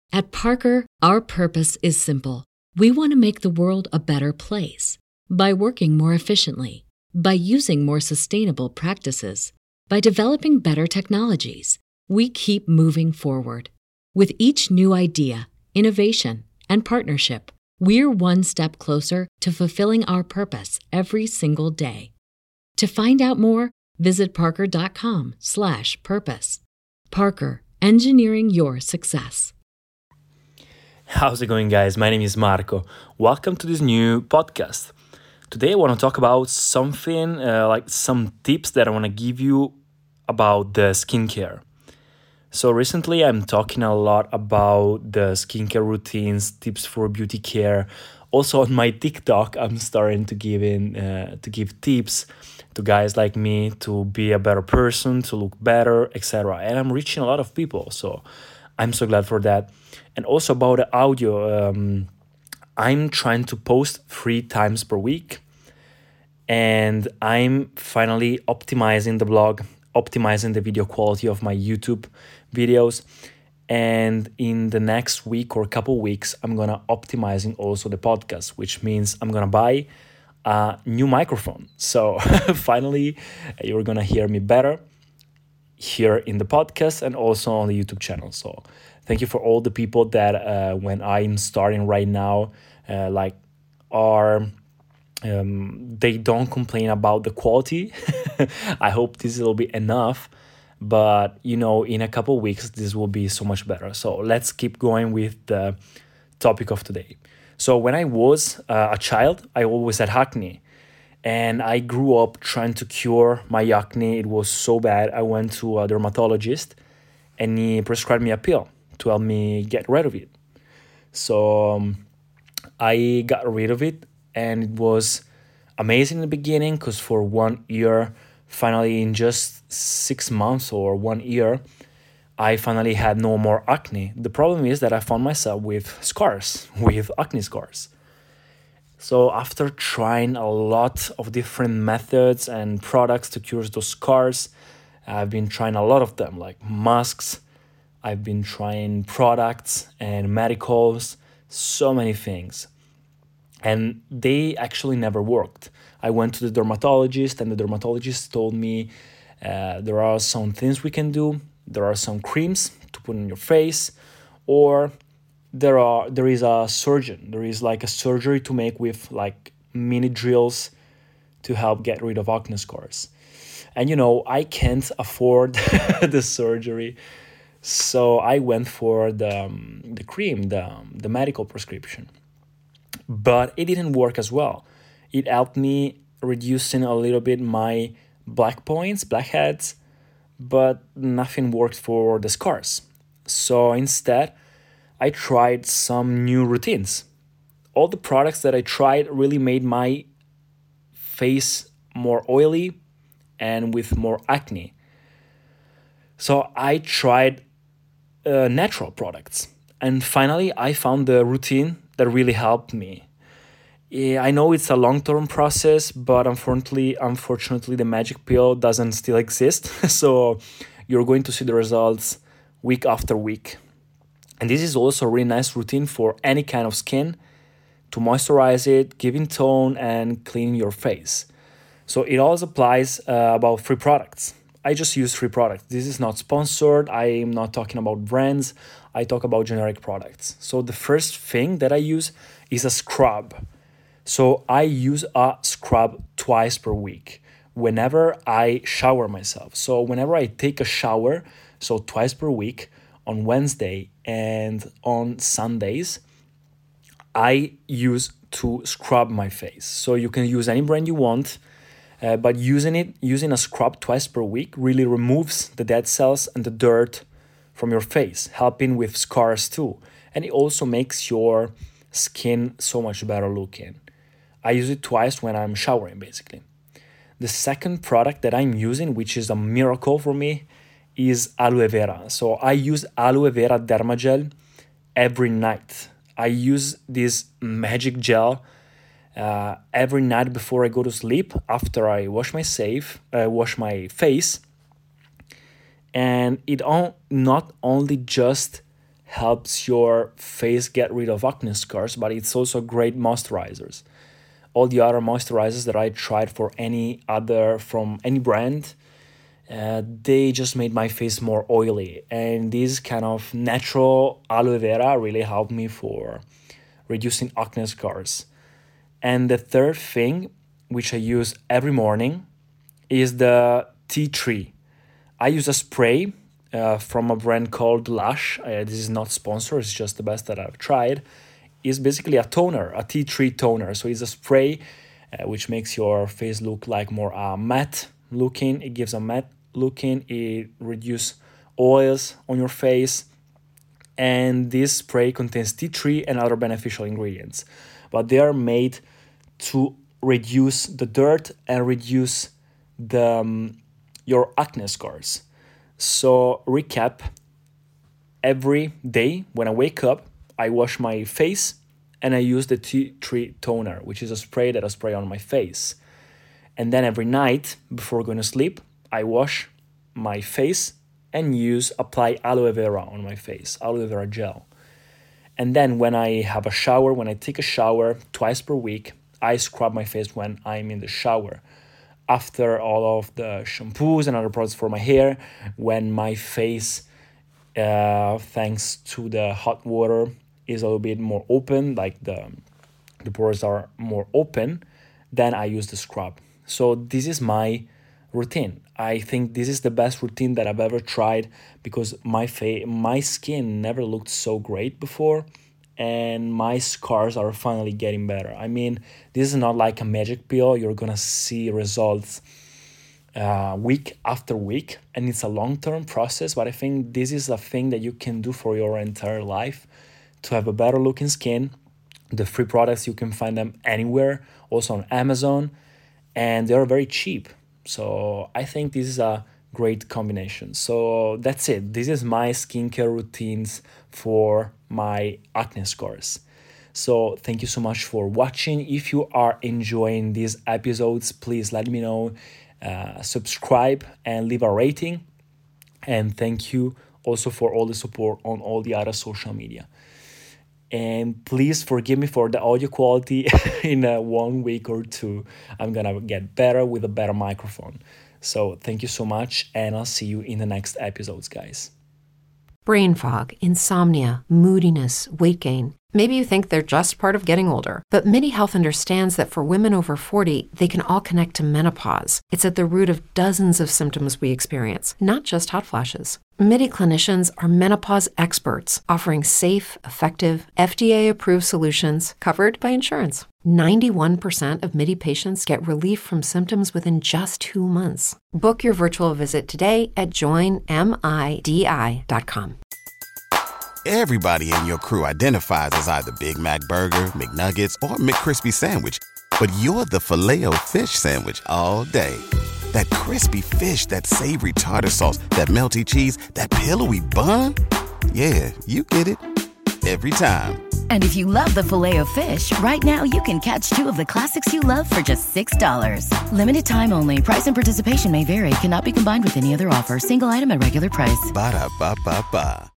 At Parker, our purpose is simple. We want to make the world a better place by working more efficiently, by using more sustainable practices, by developing better technologies. We keep moving forward. With each new idea, innovation, and partnership, we're one step closer to fulfilling our purpose every single day. To find out more, visit parker.com/purpose. Parker, engineering your success. How's it going, guys? My name is Marco. Welcome to this new podcast. Today I want to talk about something like some tips that I want to give you about the skincare. So recently I'm talking a lot about the skincare routines, tips for beauty care. Also on my TikTok, I'm starting to give tips to guys like me to be a better person, to look better, etc. And I'm reaching a lot of people, so I'm so glad for that. And also about the audio, I'm trying to post 3 times per week, and I'm finally optimizing the blog, optimizing the video quality of my YouTube videos. And in the next week or couple weeks, I'm gonna optimizing also the podcast, which means I'm gonna buy a new microphone. So finally, you're gonna hear me better here in the podcast and also on the YouTube channel. So thank you for all the people that when I'm starting right now, they don't complain about the quality. I hope this will be enough, but in a couple of weeks this will be so much better. So let's keep going with the topic of today. So when I was a child, I always had acne, and I grew up trying to cure my acne. It was so bad. I went to a dermatologist and he prescribed me a pill to help me get rid of it. So I got rid of it, and it was amazing in the beginning because for 1 year, finally in just 6 months or 1 year, I finally had no more acne. The problem is that I found myself with scars, with acne scars. So after trying a lot of different methods and products to cure those scars, I've been trying a lot of them, like masks, I've been trying products and medicals, so many things. And they actually never worked. I went to the dermatologist, and the dermatologist told me there are some things we can do. There are some creams to put on your face, or there is a surgeon. There is like a surgery to make with like mini drills to help get rid of acne scars. And I can't afford the surgery, so I went for the cream, the medical prescription. But it didn't work as well. It helped me reducing a little bit my blackheads, but nothing worked for the scars. So instead, I tried some new routines. All the products that I tried really made my face more oily and with more acne. So I tried natural products. And finally, I found the routine that really helped me. Yeah, I know it's a long-term process, but unfortunately, the magic pill doesn't still exist. So you're going to see the results week after week. And this is also a really nice routine for any kind of skin to moisturize it, giving tone, and clean your face. So it also applies about 3 products. I just use 3 products. This is not sponsored. I am not talking about brands. I talk about generic products. So the first thing that I use is a scrub. So I use a scrub twice per week whenever I shower myself. So whenever I take a shower, so twice per week, on Wednesday and on Sundays, I use to scrub my face. So you can use any brand you want, but using a scrub twice per week really removes the dead cells and the dirt from your face, helping with scars too. And it also makes your skin so much better looking. I use it twice when I'm showering, basically. The second product that I'm using, which is a miracle for me, is aloe vera. So I use aloe vera dermagel every night. I use this magic gel every night before I go to sleep, after I wash my face. And it not only just helps your face get rid of acne scars, but it's also great moisturizers. All the other moisturizers that I tried from any brand, they just made my face more oily. And this kind of natural aloe vera really helped me for reducing acne scars. And the third thing, which I use every morning, is the tea tree. I use a spray from a brand called Lush. This is not sponsored, it's just the best that I've tried. It's basically a toner, a tea tree toner. So it's a spray which makes your face look like more matte looking. It gives a matte looking. It reduces oils on your face. And this spray contains tea tree and other beneficial ingredients. But they are made to reduce the dirt and reduce your acne scars. So recap, every day when I wake up, I wash my face and I use the tea tree toner, which is a spray that I spray on my face. And then every night before going to sleep, I wash my face and apply aloe vera on my face, aloe vera gel. And then when I take a shower twice per week, I scrub my face when I'm in the shower. After all of the shampoos and other products for my hair, when my face, thanks to the hot water, is a little bit more open, like the pores are more open, then I use the scrub. So this is my routine. I think this is the best routine that I've ever tried because my skin never looked so great before, and my scars are finally getting better. I mean, this is not like a magic pill. You're gonna see results week after week, and it's a long-term process, but I think this is a thing that you can do for your entire life to have a better looking skin. The free products, you can find them anywhere, also on Amazon, and they're very cheap. So I think this is a great combination. So that's it. This is my skincare routines for my acne scars. So thank you so much for watching. If you are enjoying these episodes, please let me know, subscribe and leave a rating. And thank you also for all the support on all the other social media. And please forgive me for the audio quality. In 1 week or two, I'm gonna get better with a better microphone. So thank you so much, and I'll see you in the next episodes, guys. Brain fog, insomnia, moodiness, weight gain. Maybe you think they're just part of getting older, but MIDI Health understands that for women over 40, they can all connect to menopause. It's at the root of dozens of symptoms we experience, not just hot flashes. MIDI clinicians are menopause experts, offering safe, effective, FDA-approved solutions covered by insurance. 91% of MIDI patients get relief from symptoms within just 2 months. Book your virtual visit today at joinmidi.com. Everybody in your crew identifies as either Big Mac Burger, McNuggets, or McCrispy Sandwich. But you're the Filet-O-Fish Sandwich all day. That crispy fish, that savory tartar sauce, that melty cheese, that pillowy bun. Yeah, you get it. Every time. And if you love the Filet-O-Fish, right now you can catch 2 of the classics you love for just $6. Limited time only. Price and participation may vary. Cannot be combined with any other offer. Single item at regular price. Ba-da-ba-ba-ba.